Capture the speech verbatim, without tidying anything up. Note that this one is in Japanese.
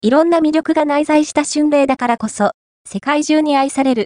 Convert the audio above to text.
いろんな魅力が内在した春麗だからこそ、世界中に愛される